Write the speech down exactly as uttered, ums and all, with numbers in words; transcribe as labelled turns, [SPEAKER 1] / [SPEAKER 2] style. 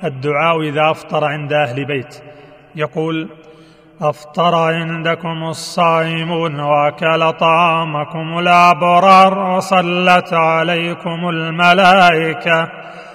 [SPEAKER 1] الدعاء إذا أفطر عند أهل بيت، يقول: أفطر عندكم الصائمون وأكل طعامكم الأبرار وصلت عليكم الملائكة